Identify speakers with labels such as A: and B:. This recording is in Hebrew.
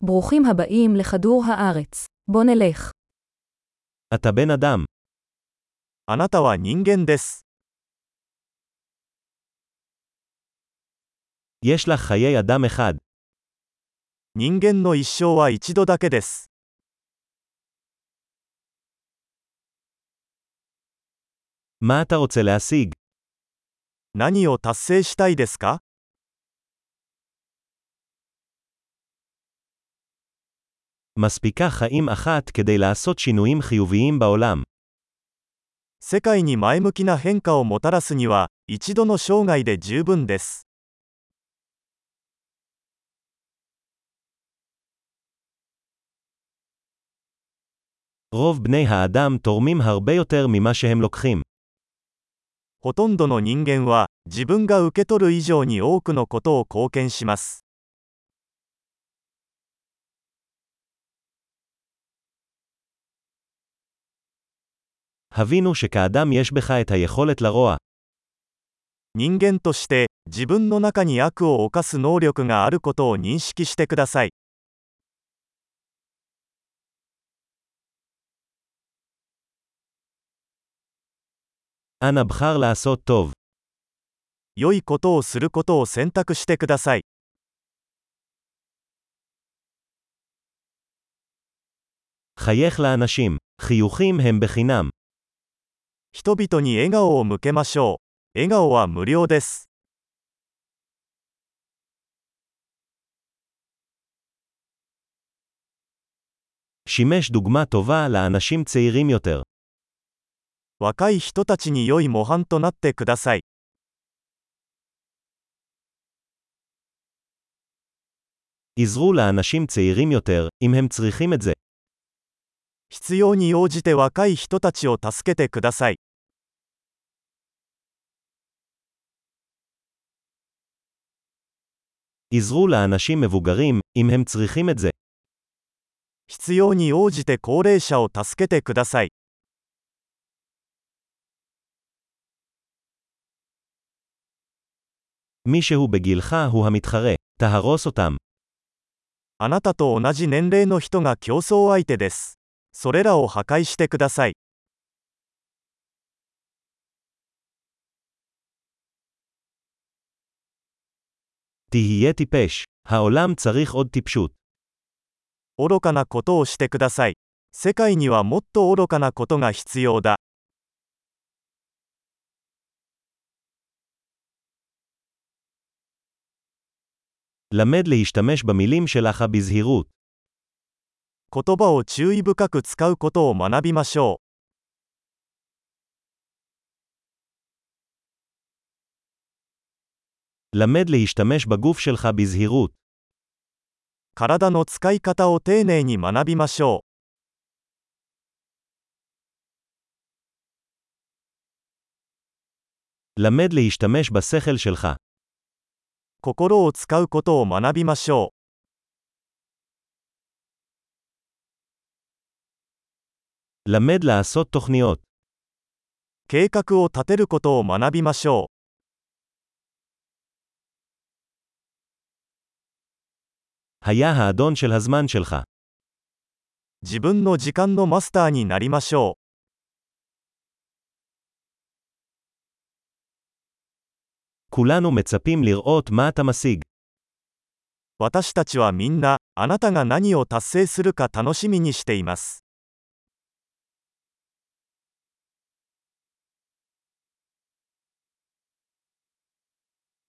A: ברוכים הבאים לכדור הארץ. בוא נלך.
B: אתה בן אדם.
C: あなたは人間です。
B: יש לך חיי אדם אחד.
C: 人間の一生は一度だけです。
B: מה אתה רוצה להשיג?
C: 何を達成したいですか？
B: מספיקה חיים אחת כדי לעשות שינויים חיוביים בעולם.
C: 世界に前向きな変化をもたらすには、一度の生涯で十分です。
B: רוב בני האדם תורמים הרבה יותר ממה שהם לוקחים.
C: ほとんどの人間は、自分が受け取る以上に多くのことを貢献します。
B: הבינו שכאדם יש בך את היכולת לרוע.
C: 人間として、自分の中に悪を犯す能力があることを認識してください。
B: אנא בחר לעשות טוב.
C: 良いことをすることを選択してください。
B: חייך לאנשים. חיוכים הם בחינם.
C: 人々に笑顔を向けましょう。笑顔は無料です。
B: שימש דוגמה טובה לאנשים צעירים יותר.
C: 若い人たちに良い模範となってください。
B: עזרו לאנשים צעירים יותר, אם הם צריכים את זה.
C: 必要に応じて若い人たちを助けてください。
B: עזרו לאנשים מבוגרים, אם הם צריכים את זה.
C: 必要に応じて高齢者を助けてください。
B: מישהו בגילך הוא המתחרה. תהרוס אותם.
C: あなたと同じ年齢の人が競争相手です。それらを破壊してください。
B: תהיה טיפש. העולם צריך עוד טיפשות.
C: 愚かなことをしてください。世界にはもっと愚かなことが必要だ。
B: למד להשתמש במילים שלך בזהירות.
C: 言葉を注意深く使うことを学びましょ
B: う。למד להשתמש בגוף שלך בזהירות.
C: う。体の使い方を丁寧に学びましょ
B: う。למד להשתמש בשכל שלך.
C: う。心を使うことを学びましょう。
B: למד לעשות תוכניות.
C: 計画を立てることを学びましょう。
B: היה האדון של הזמן שלך.
C: 自分の時間のマスターになりましょう。
B: כולנו מצפים לראות מה אתה משיג.
C: 私たちはみんな、あなたが何を達成するか楽しみにしています。